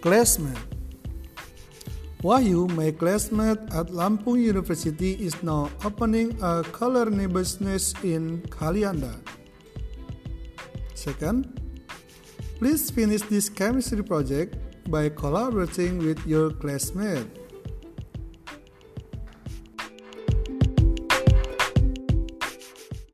classmate. Wahyu, my classmate at Lampung University, is now opening a culinary business in Kalianda. Second, please finish this chemistry project by collaborating with your classmate.